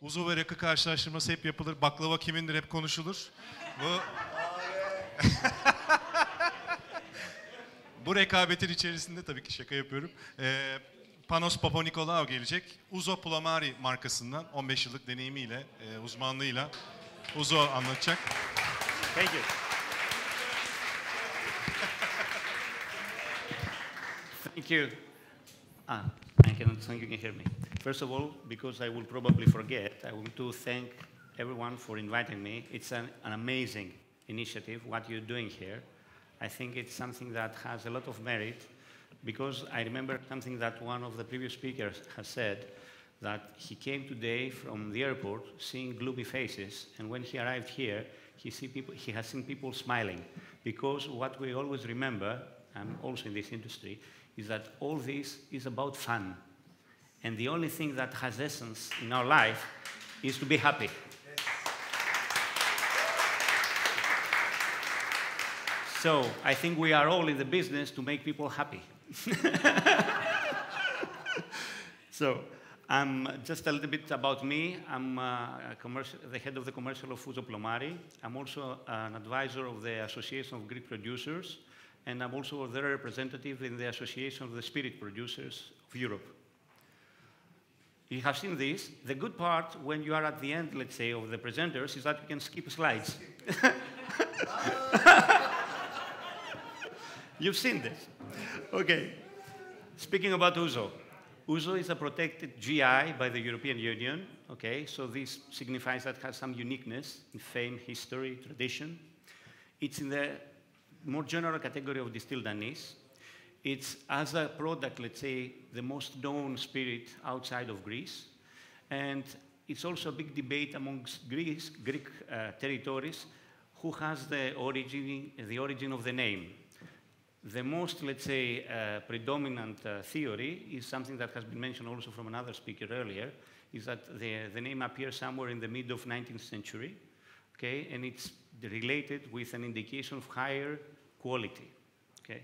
Uzo ve rakı karşılaştırması hep yapılır. Baklava kimindir hep konuşulur. Bu bu rekabetin içerisinde tabii ki şaka yapıyorum. Panos Papanikolaou gelecek. Uzo Pulomari markasından 15 yıllık deneyimiyle, uzmanlığıyla Uzo anlatacak. Thank you. Thank you. I cannot think you can hear me. First of all, because I will probably forget, I want to thank everyone for inviting me. It's an amazing initiative, what you're doing here. I think it's something that has a lot of merit, because I remember something that one of the previous speakers has said, that he came today from the airport seeing gloomy faces, and when he arrived here, he has seen people smiling. Because what we always remember, I'm also in this industry, is that all this is about fun. And the only thing that has essence in our life is to be happy. So I think we are all in the business to make people happy. So just a little bit about me. I'm the head of the commercial of Uzo Pulomari. I'm also an advisor of the Association of Greek Producers, and I'm also their representative in the Association of the Spirit Producers of Europe. You have seen this. The good part, when you are at the end, let's say, of the presenters, is that you can skip slides. You've seen this. Okay. Speaking about Uzo. Uzo is a protected GI by the European Union. Okay, so this signifies that it has some uniqueness in fame, history, tradition. It's in the more general category of distilled anise. It's, as a product, let's say, the most known spirit outside of Greece. And it's also a big debate amongst Greek territories who has the origin of the name. The most, let's say, predominant theory is something that has been mentioned also from another speaker earlier, is that the name appears somewhere in the mid of 19th century, okay, and it's related with an indication of higher quality, okay.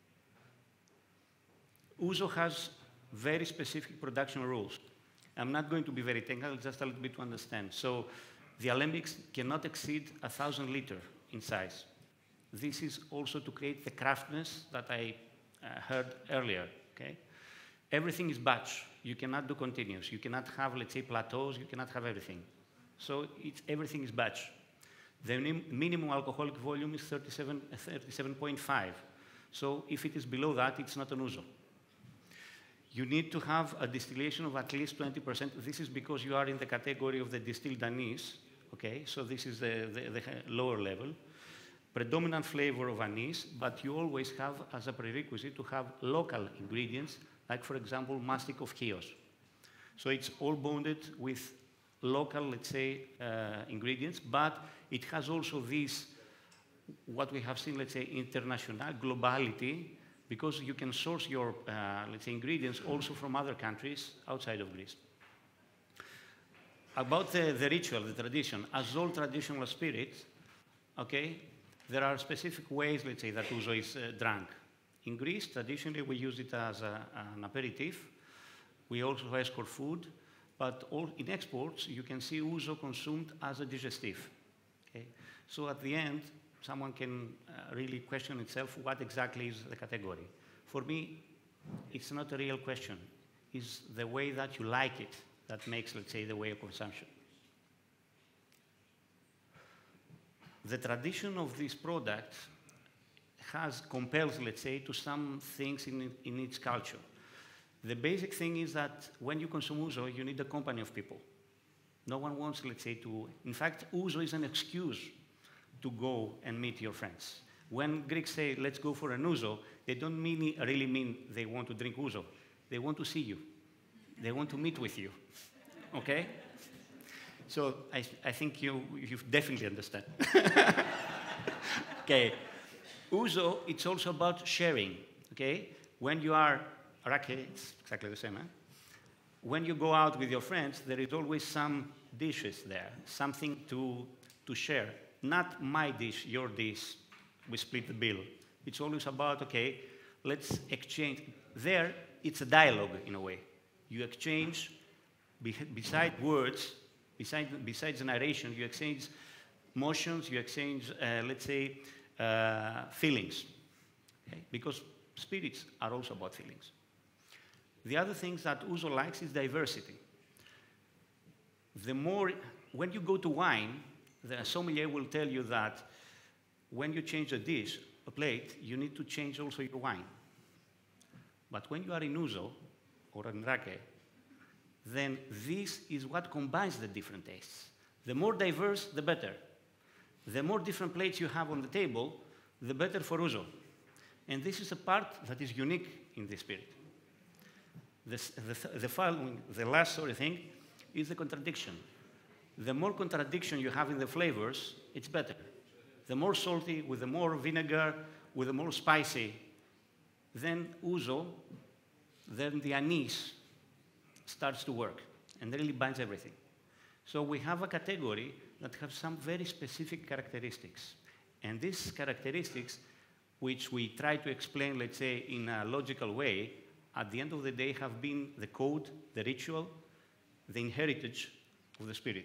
Uzo has very specific production rules. I'm not going to be very technical, just a little bit to understand. So the alembics cannot exceed 1,000 liters in size. This is also to create the craftness that I heard earlier, okay? Everything is batch. You cannot do continuous. You cannot have, let's say, plateaus. You cannot have everything. So everything is batch. The minimum alcoholic volume is 37.5. So if it is below that, it's not an Uzo. You need to have a distillation of at least 20%. This is because you are in the category of the distilled anise, okay? So this is the lower level. Predominant flavor of anise, but you always have, as a prerequisite, to have local ingredients, like, for example, mastic of Chios. So it's all bonded with local, let's say, ingredients, but it has also this, what we have seen, let's say, international globality, because you can source your, let's say, ingredients also from other countries outside of Greece. About the ritual, the tradition, as all traditional spirits, okay, there are specific ways, let's say, that Uzo is drunk. In Greece, traditionally, we use it as an aperitif. We also escort food, but in exports, you can see Uzo consumed as a digestif. Okay? So at the end, someone can really question itself what exactly is the category. For me, it's not a real question. It's the way that you like it that makes, let's say, the way of consumption. The tradition of this product compels, let's say, to some things in its culture. The basic thing is that when you consume Uzo, you need a company of people. No one wants, let's say, in fact, Uzo is an excuse to go and meet your friends. When Greeks say, let's go for an Uzo, they don't really mean they want to drink Uzo. They want to see you. They want to meet with you, okay? So I think you definitely understand. Okay. Uzo, it's also about sharing, okay? When you are, raki, it's exactly the same, eh? When you go out with your friends, there is always some dishes there, something to share. Not my dish, your dish, we split the bill. It's always about, okay, let's exchange. There, it's a dialogue in a way. You exchange, beside words, Besides narration, you exchange motions, you exchange, let's say, feelings, okay? Because spirits are also about feelings. The other things that Ouzo likes is diversity. When you go to wine, the sommelier will tell you that when you change a dish, a plate, you need to change also your wine. But when you are in Ouzo or in Rake, then this is what combines the different tastes. The more diverse, the better. The more different plates you have on the table, the better for Ouzo. And this is a part that is unique in the spirit. The last thing is the contradiction. The more contradiction you have in the flavors, it's better. The more salty, with the more vinegar, with the more spicy, then Ouzo, then the anise starts to work and really binds everything. So we have a category that has some very specific characteristics. And these characteristics, which we try to explain, let's say, in a logical way, at the end of the day have been the code, the ritual, the heritage of the spirit.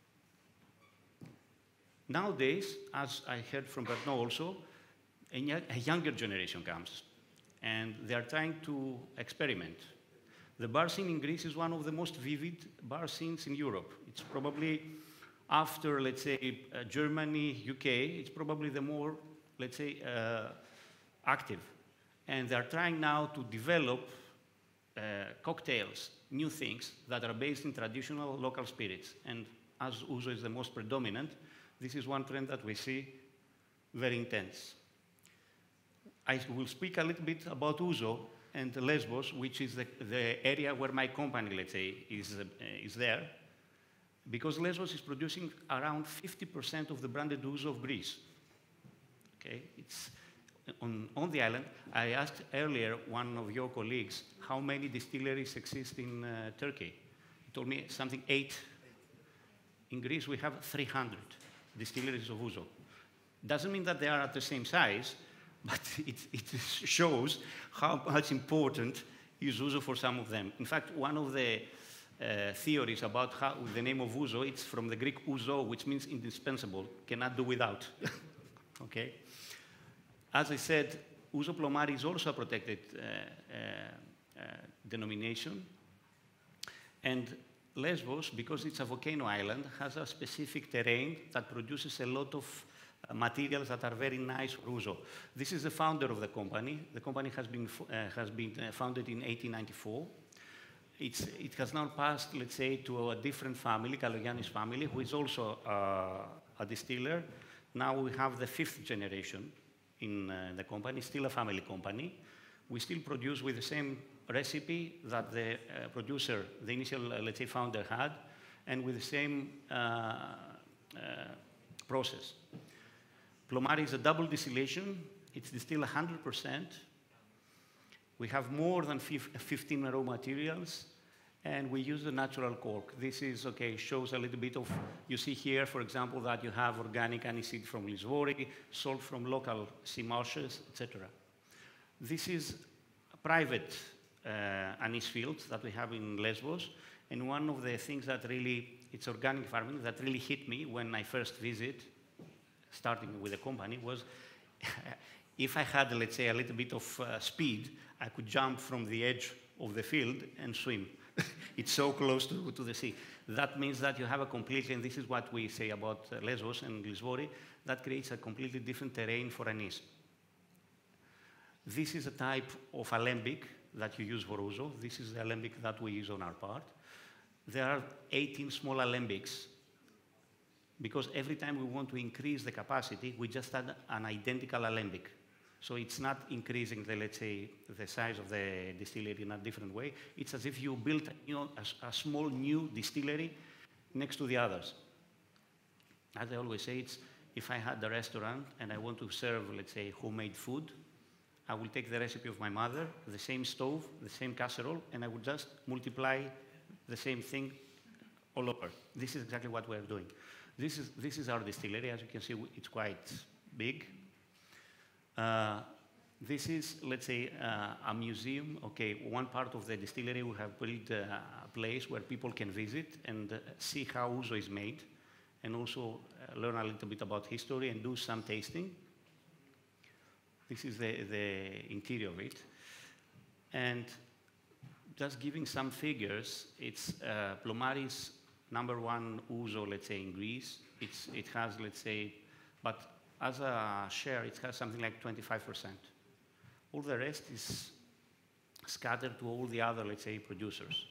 Nowadays, as I heard from Bertrand also, a younger generation comes, and they are trying to experiment. The bar scene in Greece is one of the most vivid bar scenes in Europe. It's probably, after, let's say, Germany, UK, it's probably the more, let's say, active. And they're trying now to develop cocktails, new things that are based in traditional local spirits. And as Ouzo is the most predominant, this is one trend that we see very intense. I will speak a little bit about Ouzo and Lesbos, which is the area where my company, let's say, is there, because Lesbos is producing around 50% of the branded Ouzo of Greece. Okay, it's on the island. I asked earlier one of your colleagues how many distilleries exist in Turkey. He told me something 8. In Greece, we have 300 distilleries of Ouzo. Doesn't mean that they are at the same size, but it shows how much important is Ouzo for some of them. In fact, one of the theories about how the name of Ouzo, it's from the Greek ouzo, which means indispensable, cannot do without. Okay? As I said, Ouzo Plomari is also a protected denomination. And Lesbos, because it's a volcano island, has a specific terrain that produces a lot of materials that are very nice for Ouzo. This is the founder of the company. The company has been founded in 1894. It has now passed, let's say, to a different family, Kalogiannis family, who is also a distiller. Now we have the 5th generation in the company, still a family company. We still produce with the same recipe that the producer, the initial, let's say, founder had, and with the same process. Plomari is a double distillation. It's distilled 100%. We have more than 15 raw materials, and we use the natural cork. This is, okay, shows a little bit of, you see here, for example, that you have organic aniseed from Lisvori, salt from local sea marshes, etc. This is a private anise field that we have in Lesbos, and one of the things that really, it's organic farming, that really hit me when I first visit, starting with the company, was if I had, let's say, a little bit of speed, I could jump from the edge of the field and swim. It's so close to the sea. That means that you have a completely, and this is what we say about Lesbos and Lisvori, that creates a completely different terrain for anise. This is a type of alembic that you use for Ouzo. This is the alembic that we use on our part. There are 18 small alembics, because every time we want to increase the capacity, we just add an identical alembic. So it's not increasing the, let's say, the size of the distillery in a different way. It's as if you built, a small new distillery next to the others. As I always say, it's if I had a restaurant and I want to serve, let's say, homemade food, I will take the recipe of my mother, the same stove, the same casserole, and I would just multiply the same thing all over. This is exactly what we're doing. This is our distillery. As you can see, it's quite big. This is, let's say, a museum. Okay, one part of the distillery we have built a place where people can visit and see how ouzo is made, and also learn a little bit about history and do some tasting. This is the interior of it. And just giving some figures, it's Plomari's #1 ouzo, let's say, in Greece. It has, let's say, but as a share, it has something like 25%. All the rest is scattered to all the other, let's say, producers.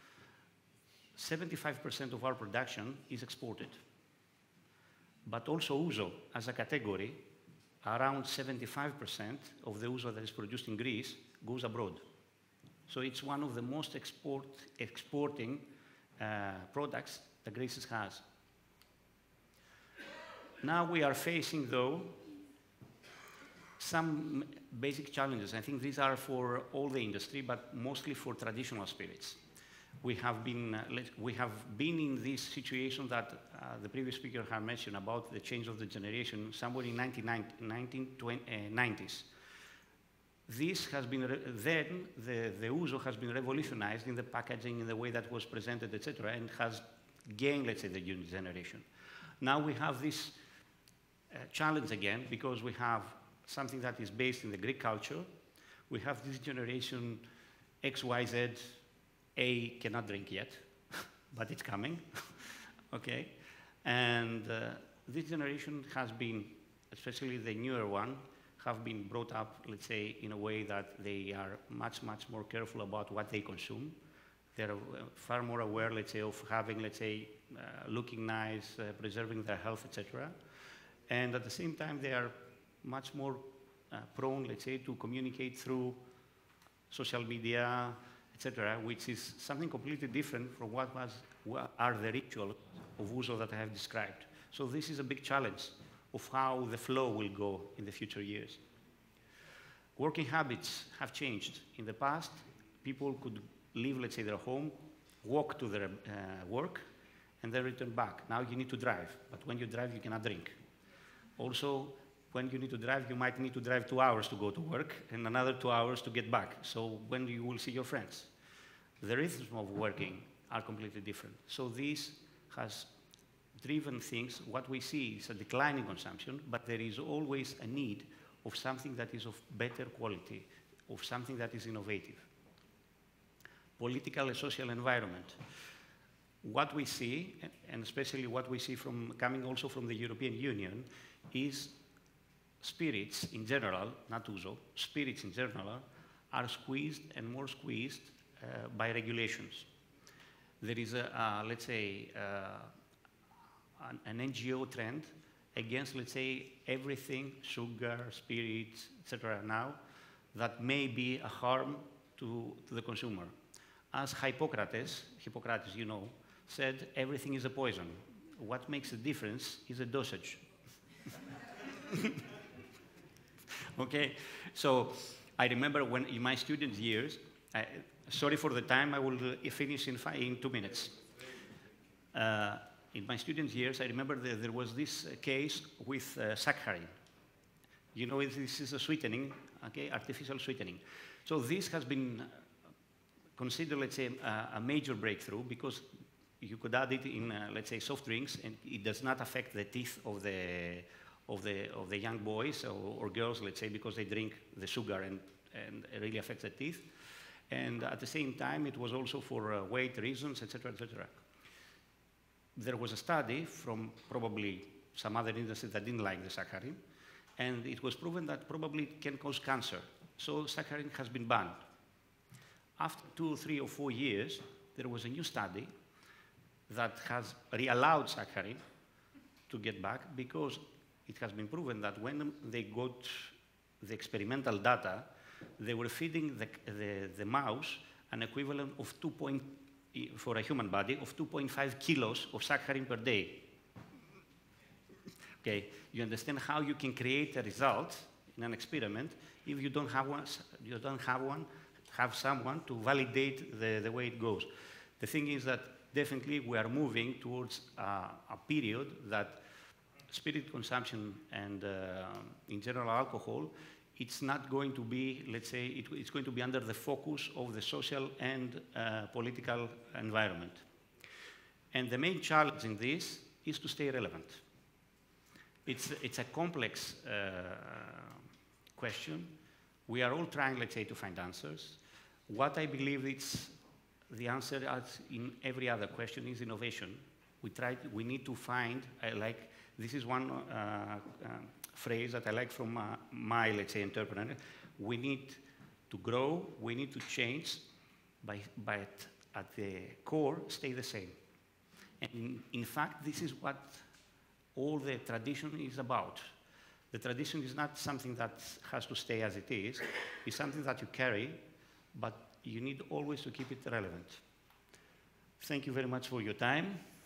75% of our production is exported. But also ouzo, as a category, around 75% of the ouzo that is produced in Greece goes abroad. So it's one of the most exporting products that Greece has. Now we are facing, though, some basic challenges. I think these are for all the industry, but mostly for traditional spirits. We have been in this situation that the previous speaker had mentioned about the change of the generation somewhere in 1990s. This has been, then the ouzo has been revolutionized in the packaging, in the way that was presented, etc., and has gained, let's say, the new generation. Now we have this challenge again, because we have something that is based in the Greek culture. We have this generation X, Y, Z. A cannot drink yet, but it's coming, okay? And this generation has been, especially the newer one, have been brought up, let's say, in a way that they are much, much more careful about what they consume. They're far more aware, let's say, of having, let's say, looking nice, preserving their health, etc. And at the same time, they are much more prone, let's say, to communicate through social media, etc., which is something completely different from what are the rituals of ouzo that I have described. So this is a big challenge of how the flow will go in the future years. Working habits have changed. In the past, people could leave, let's say, their home, walk to their work, and then return back. Now you need to drive, but when you drive, you cannot drink. Also, when you need to drive, you might need to drive 2 hours to go to work and another 2 hours to get back. So when you will see your friends? The rhythms of working are completely different. So this has driven things. What we see is a decline in consumption, but there is always a need of something that is of better quality, of something that is innovative. Political and social environment. What we see, and especially what we see from coming also from the European Union, is spirits in general, not ouzo, spirits in general are squeezed and more squeezed by regulations. There is, let's say, an NGO trend against, let's say, everything, sugar, spirits, etc. now, that may be a harm to the consumer. As Hippocrates, you know, said, everything is a poison. What makes the difference is the dosage. Okay, so I remember when in my student years, sorry for the time, I will finish in 2 minutes. In my student years, I remember that there was this case with saccharin. You know, this is a sweetening, okay, artificial sweetening. So this has been considered, let's say, a major breakthrough, because you could add it in, let's say, soft drinks, and it does not affect the teeth of the young boys or girls, let's say, because they drink the sugar and it really affects the teeth. And at the same time, it was also for weight reasons, etc., etc. There was a study from probably some other industry that didn't like the saccharin, and it was proven that probably it can cause cancer. So saccharin has been banned. After 2, 3, or 4 years, there was a new study that has re-allowed saccharin to get back, because it has been proven that when they got the experimental data, they were feeding the mouse an equivalent of for a human body, of 2.5 kilos of saccharin per day. Okay, you understand how you can create a result in an experiment if you don't have one, have someone to validate the way it goes. The thing is that definitely we are moving towards a period that spirit consumption and in general alcohol it's not going to be, let's say, it's going to be under the focus of the social and political environment. And the main challenge in this is to stay relevant. It's a complex question. We are all trying, let's say, to find answers. What I believe it's the answer, as in every other question, is innovation. We need to find, this is one phrase that I like from my, let's say, entrepreneur. We need to grow, we need to change, but at the core, stay the same. And in fact, this is what all the tradition is about. The tradition is not something that has to stay as it is. It's something that you carry, but you need always to keep it relevant. Thank you very much for your time.